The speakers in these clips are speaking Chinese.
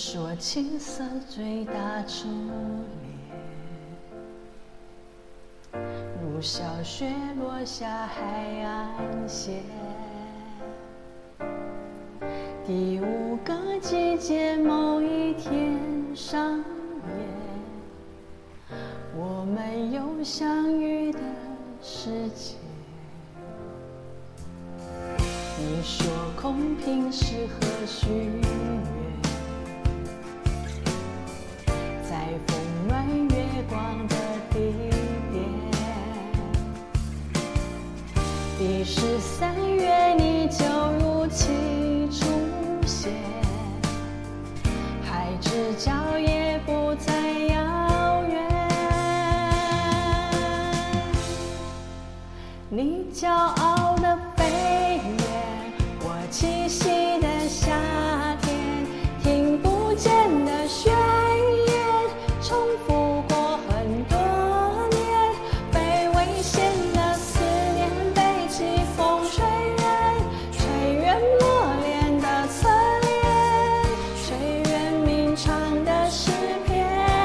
說青色最大朱臉，如小雪落下海岸線。第五個季節某一天上演，我們有相遇的時間。你說空瓶適合許願，在風暖月光的地點。第13月你就如期出現，海之角也不再遙遠。你驕傲的飛遠，我栖息的夏天，聽不見的宣言，重複過很多年，被危險的思念，被季風吹遠，吹遠磨練的側臉，吹遠鳴唱的詩篇。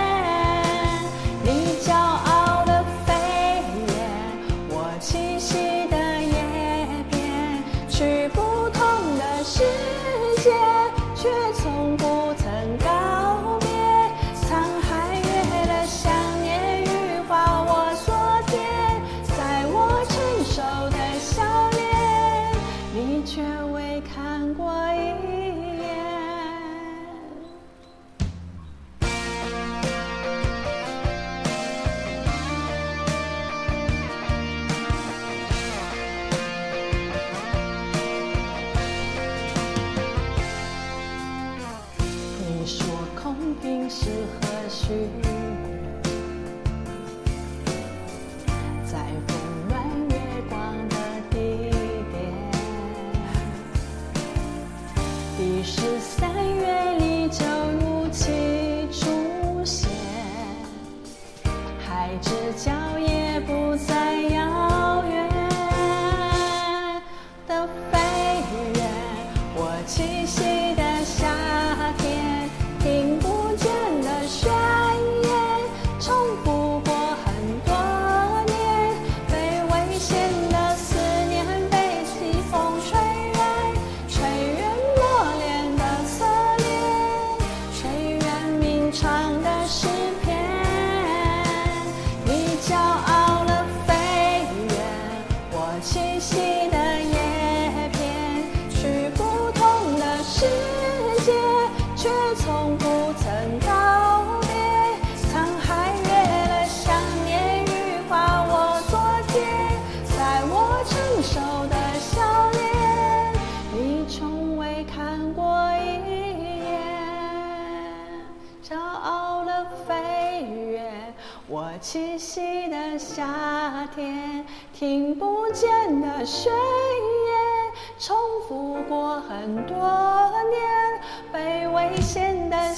你驕傲的飛遠，我棲息的葉邊，去不同的世界，卻從不曾告別。滄海月的想念羽化我昨天，在我成熟的笑臉，你卻未看過一眼。你說空瓶適合許願，在風暖月光的地點。第13月你就如期出現，海之角也不再遙遠的飛遠，我棲息的夏天，聽不見的宣言，重複過很多年，被危險的思念，被季風吹遠，吹遠磨練的側臉，吹遠鳴唱的詩篇。你驕傲了飛遠，我棲息的葉片，去不同的世界，卻從不曾告別。滄海月的想念羽化我昨天，在我成熟的笑臉，你從未看過一眼。驕傲的飛遠，我棲息的夏天，聽不見的宣言，重複過很多年，被危險的